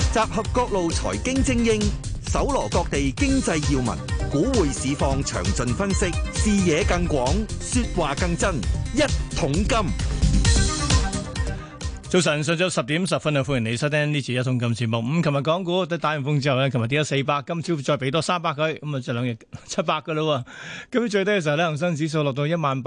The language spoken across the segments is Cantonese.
集合各路財經精英，搜羅各地經濟要聞，股匯市況詳盡分析，視野更廣，說話更真。一桶金。 早晨，上晝10點10分啊！歡迎你收聽呢次一桶金節目。咁，琴日港股都打完風之後呢，琴日跌咗400，今朝再俾多300佢，咁啊，就兩日700噶啦。今朝最低嘅時候呢，恒生指數落到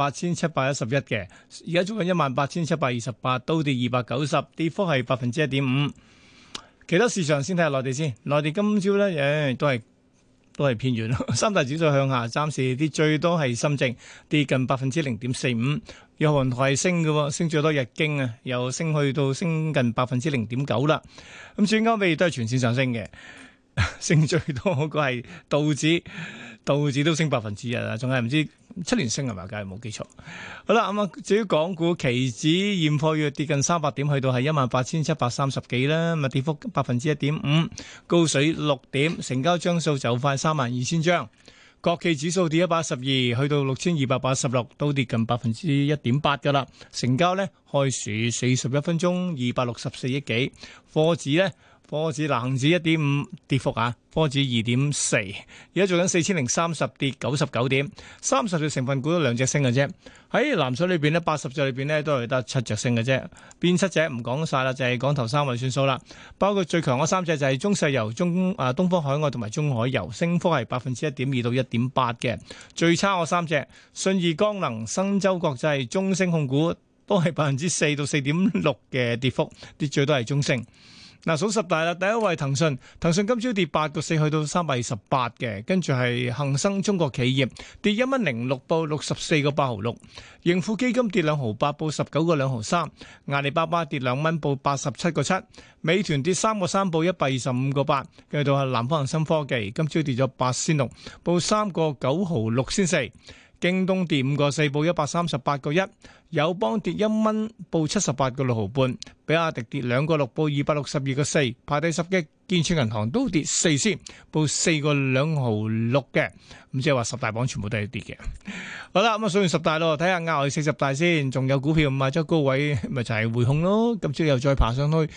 18,711嘅，而家做緊18,728，都跌290，跌幅係1.5%。其他市場先睇下內地先，內地今朝呢，都係偏軟，三大指數向下，暫時跌最多係深證跌近0.45%，有韓台升嘅，升最多日經啊，又升去到升近0.9%啦。咁至於歐美都係全線上升嘅，升最多嗰個係道指都升1%啊，仲係唔知7連升係咪？梗係冇記錯。好啦，咁啊，至於港股期指現貨月跌近300點，去到係18,730幾啦，咁啊跌幅1.5%，高水6點，成交張數就快32,000張。國企指數跌112，去到6,286，都跌近1.8%噶啦。成交呢，開市41分鐘264億幾。科指恒指1.5跌幅啊，科指2.4，而家做緊4,030跌99點，30隻成分股都2隻升嘅啫。喺藍水裏邊呢，80隻裏邊呢都係得7隻升嘅啫。邊7隻唔講晒啦，就係講頭3位算數啦。包括最強嗰3隻就係中石油、東方海外同埋中海油，升幅係1.2%到1.8%嘅。最差嗰3隻，信義光能、新洲國際、中升控股都係4%到4.6%嘅跌幅，跌最多係中升。嗱，數十大啦，第一位騰訊今朝跌8個4，去到328嘅，跟住係恒生中國企業跌1.06，報64個8毫6，盈富基金跌2毫8，報19個2毫3，阿里巴巴跌2蚊，報87個7，美團跌3個3，報125個8，跟住到係南方恒生科技今朝跌咗8仙6，報3個9毫6仙4。京東跌5個4，報138個1，友邦跌1蚊，報78個6毫半，比亞迪跌2個6，報262個4，排第10嘅建設銀行都跌4仙，報4個2毫6嘅，咁即係話10大榜全部都係跌嘅。好啦，咁啊數完10大咯，睇下額外40大先，仲有股票賣咗高位，咪就係匯控咯，今朝又再爬上去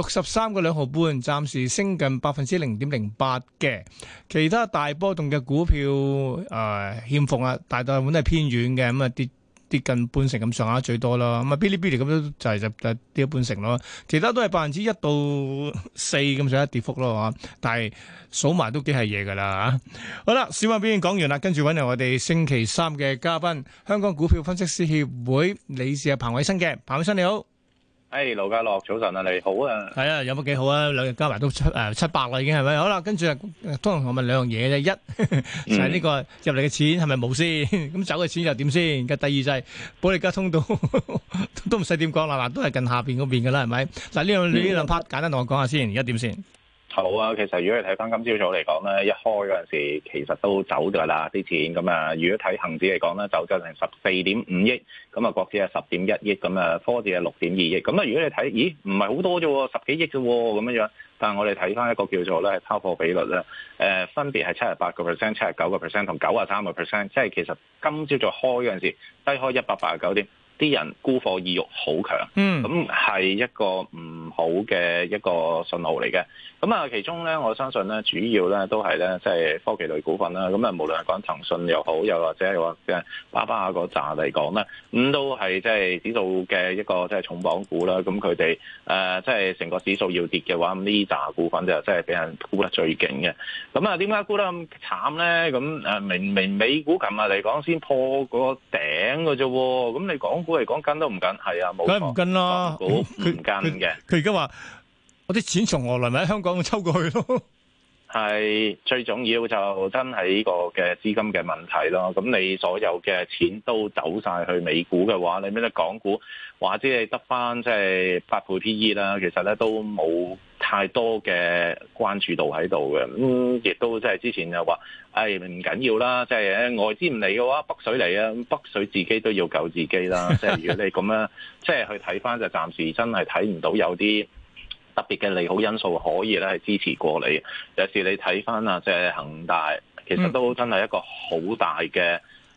63個2毫半，暫時升近0.08%嘅。其他大波動嘅股票欠奉啊，大部分都係偏軟嘅，咁啊跌近半成咁上下最多啦，咁啊嗶哩嗶哩咁都就跌咗半成咯，其他都係1%到4%咁上下跌幅咯，但係數埋都幾係嘢噶啦。好啦，小馬表演講完啦，跟住揾嚟我哋星期3嘅嘉賓，香港股票分析師協會理事彭偉新嘅，彭偉新你好。 盧家樂早晨啊，你好啊。 係啊，有乜幾好啊？兩日加埋都700啦，已經係咪？好啦，跟住通常我問兩樣嘢啫，一就係呢個入嚟嘅錢係咪冇先？咁走嘅錢又點先？嘅第二就係保利加通道都唔使點講啦，嗱都係近下邊嗰邊噶啦，係咪？嗱呢兩 part 簡單同我講下先，而家點先？ 好啊，其實如果你睇翻今朝早嚟講咧，一開嗰陣時其實都走㗎啦啲錢，咁啊，如果睇恒指嚟講咧，走咗成14.5億，咁啊國指係10.1億，咁啊科指係6.2億，咁啊如果你睇，咦唔係好多啫喎，10幾億啫喎，咁樣，但係我哋睇翻一個叫做咧係拋貨比率咧，分別係78%、79%同93%，即係其實今朝早開嗰陣時低開189點。啲人沽貨意欲好強，咁係一個唔好嘅一個信號嚟嘅。咁啊，其中咧，我相信咧，主要咧都係咧，即係科技類股份啦。咁啊，無論係講騰訊又好，又或者係話嘅巴巴嗰扎嚟講咧，咁都係即係指數嘅一個即係重磅股啦。咁佢哋即係成個指數要跌嘅話，咁呢扎股份就真係俾人沽得最勁嘅。咁啊，點解沽得咁慘咧？咁明明美股琴日嚟講先破個頂嘅啫，咁你港股嚟講跟都唔跟，係啊，冇錯， 梗係唔跟啦， 股唔跟嘅。 佢而家話我啲錢從何來，咪喺香港抽過去咯。 係最重要就真係呢個嘅資金嘅問題咯。咁你所有嘅錢都走晒去美股嘅話，你咩得港股或者你得翻即係8倍 PE 啦，其實咧都冇太多嘅關注度喺度嘅。亦都即係之前又話，唔緊要啦，即係外資唔嚟嘅話，北水嚟啊，北水自己都要救自己啦。即係如果你咁樣即係去睇翻，就暫時真係睇唔到有啲特別嘅利好因素可以咧係支持過你。有時你睇翻啊，即係恒大，其實都真係一個好大嘅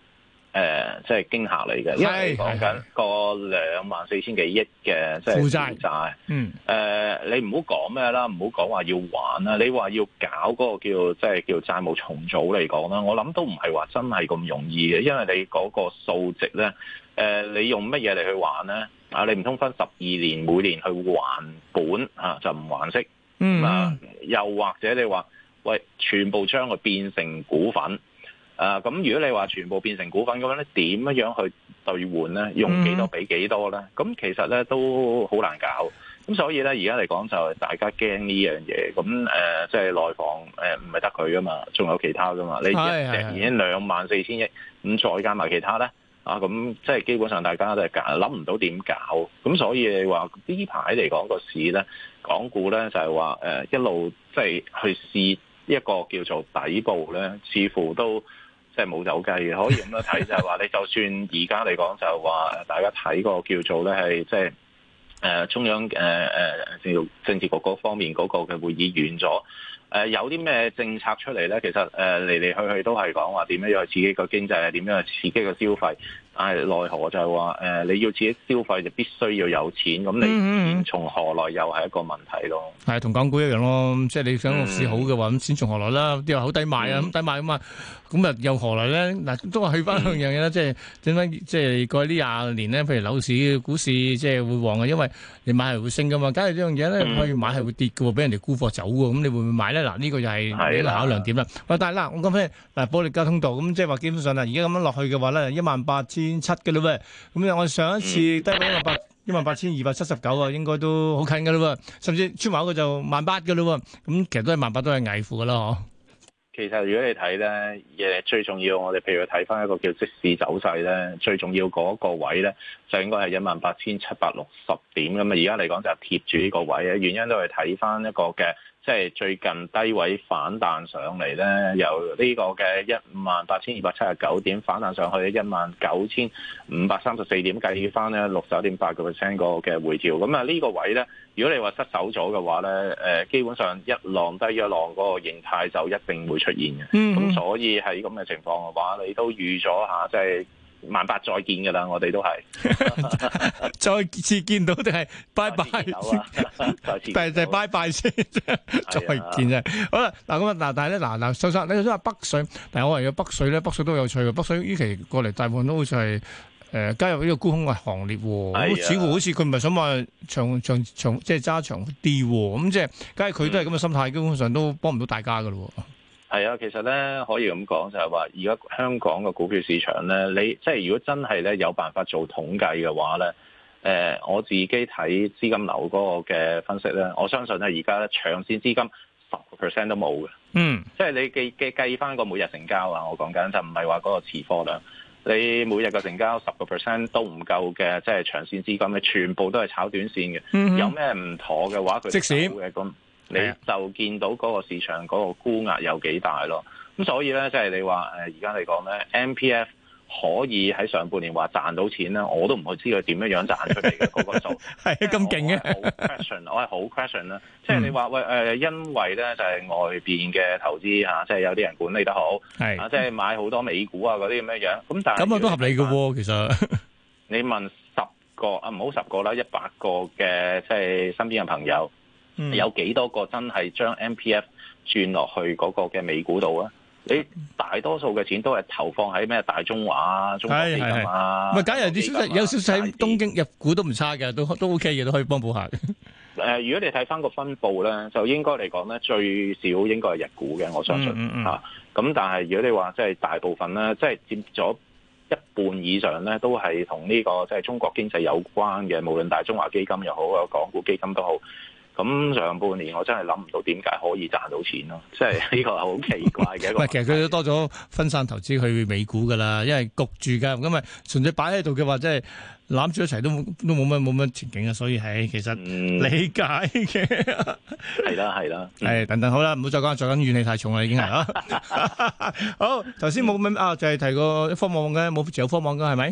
即係驚嚇嚟嘅，因為講緊個24,000幾億嘅即係負債。你唔好講咩啦，唔好講話要還啦，你話要搞嗰個叫債務重組嚟講啦，我諗都唔係話真係咁容易嘅，因為你嗰個數值咧，你用乜嘢嚟去還咧？你唔通分12年每年去還本就唔還息？又或者你話喂，全部將佢變成股份？咁如果你話全部變成股份咁樣咧，點樣去兌換咧？用幾多俾幾多咧？咁其實咧都好難搞。咁所以咧，而家嚟講就係大家驚呢樣嘢。咁即係內房唔係得佢噶嘛，仲有其他噶嘛。你一隻已經24,000億，咁再加埋其他咧，咁即係基本上大家都係諗唔到點搞。咁所以你話呢排嚟講個市咧，港股咧就係話一路即係去試一個叫做底部咧，似乎都即係冇走雞嘅，可以咁樣睇就係話，你就算而家嚟講就係話，大家睇個叫做咧係即係中央政治局嗰方面嗰個嘅會議完咗，有啲咩政策出嚟咧？其實嚟嚟去去都係講話點樣去刺激個經濟，點樣去刺激個消費。但係奈何就係話你要自己消費就必須要有錢，咁你錢從何來又係一個問題咯。係同港股一樣咯，即係你想個市好嘅話，咁錢從何來啦？啲話好抵買啊，咁抵買咁啊，咁又何來咧？嗱，都係去翻兩樣嘢啦，即係點解即係過去呢20年咧？譬如樓市、股市即係會旺嘅，因為你買係會升噶嘛。假如呢樣嘢咧，可以買係會跌嘅喎，俾人哋沽貨走嘅，咁你會唔會買咧？嗱，呢個又係你個考量點啦。喂，但係嗱，我講翻嗱，保利加通道咁，即係話基本上啦，而家咁樣落去嘅話咧，18,700嘅嘞喎，咁我上一次低位18,279啊，應該都好近嘅嘞喎，甚至穿埋一個就18,000嘅嘞喎，咁其實都係18,000都係危乎嘅啦，嗬。 其實如果你睇咧，最重要我哋譬如睇翻一個叫即市走勢咧，最重要嗰個位咧就應該係18,760點咁啊！而家嚟講就貼住呢個位嘅原因都係睇翻一個嘅。即係最近低位反彈上嚟咧，由呢個嘅18,279點反彈上去19,534點，計翻咧61.8% 個嘅回調。咁啊呢個位咧，如果你話失手咗嘅話咧，基本上一浪低一浪嗰個形態就一定會出現嘅。咁所以喺咁嘅情況嘅話，你都預咗下，即係18,000再見㗎啦，我哋都係再次見到定係拜拜，但係拜拜先，再見啫。好啦，嗱咁啊，嗱但係咧，嗱收生，你頭先話北水，但係我話有北水咧，北水都有趣嘅。北水呢期過嚟大部分都好似係加入呢個沽空嘅行列喎，似乎好似佢唔係想話長即係揸長啲喎，咁即係假如佢都係咁嘅心態，基本上都幫唔到大家㗎咯。 係啊，其實咧可以咁講就係話，而家香港嘅股票市場咧，你即係如果真係咧有辦法做統計嘅話咧，我自己睇資金流嗰個嘅分析咧，我相信咧而家咧長線資金10% 都冇嘅。即係你計翻個每日成交啊，我講緊就唔係話嗰個持貨量，你每日嘅成交10% 都唔夠嘅，即係長線資金咧全部都係炒短線嘅。有咩唔妥嘅話，佢即使嘅咁。你就見到嗰個市場嗰個沽壓有幾大咯，咁所以咧即係你話而家嚟講咧 MPF 可以喺上半年話賺到錢咧，我都唔去知佢點樣賺出嚟嘅嗰個數， 係咁勁嘅。 我係好 question 啦，即係你話喂因為咧就係外邊嘅投資即係有啲人管理得好，即係買好多美股啊嗰啲咁樣，咁但係咁都合理嘅喎，其實你問10個唔好10個啦，100個嘅即係身邊嘅朋友。有幾多個真係將 MPF 轉落去嗰個嘅美股度啊？你大多數嘅錢都係投放喺咩大中華啊、中國基金啊。唔係， 假如有少少喺東京入股都唔差嘅，都 OK 嘅，都可以幫補下。 如果你睇翻個分佈咧，就應該嚟講咧，最少應該係日股嘅，我相信嚇。咁但係如果你話即係大部分咧，即係佔咗一半以上咧，都係同呢個即係中國經濟有關嘅，無論大中華基金又好，港股基金都好。咁上半年我真係諗唔到點解可以賺到錢咯，即係呢個係好奇怪嘅一個。 其實佢都多咗分散投資去美股噶啦，因為焗住㗎，咁咪純粹擺喺度嘅話，即係攬住一齊都冇乜前景啊，所以係其實理解嘅。係啦，等等好啦，唔好再講怨氣太重啦，已經係啊。好，頭先冇就係提過科網嘅，冇持有科網嘅係咪？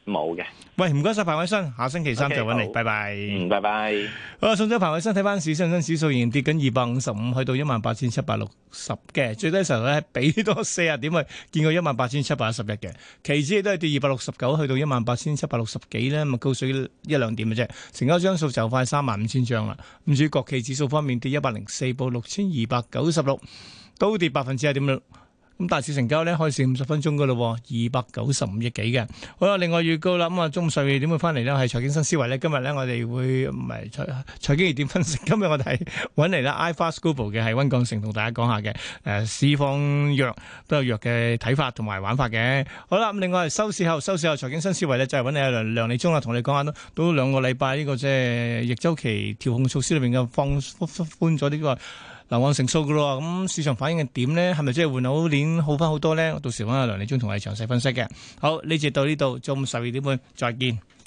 冇嘅。 喂，唔該晒彭偉新，下星期三 OK， 就揾你， 好拜拜。 拜拜。 好啦，送咗彭偉新睇翻市，恒生指數仍然跌緊255，去到18,760嘅，最低時候咧俾多40點去，見過18,711嘅，期指亦都係跌269，去到18,760幾咧，咁啊高水一兩點嘅啫，成交張數就快35,000張啦。咁至於國企指數方面跌104，報6,296，都跌1.6%。咁大市成交咧開市50分鐘噶咯，295億幾嘅。好啦，另外預告啦，咁啊中午12點會翻嚟咧，係財經新思維咧。今日咧我哋會唔係財經熱點分析，今日我哋係揾嚟啦 iFast Global 嘅係溫鋼城同大家講下嘅市況弱都有弱嘅睇法同埋玩法嘅。好啦，咁另外收市後財經新思維咧就係揾你阿梁利忠啦，同你講下都2個禮拜呢個即係逆周期調控措施裏邊嘅放寬咗呢個流按成數噶咯，咁市場反應係點呢？係咪即係換口鏈好翻好多呢？到時揾阿梁利忠同我哋詳細分析嘅。好，呢節到呢度，中午12點半再見。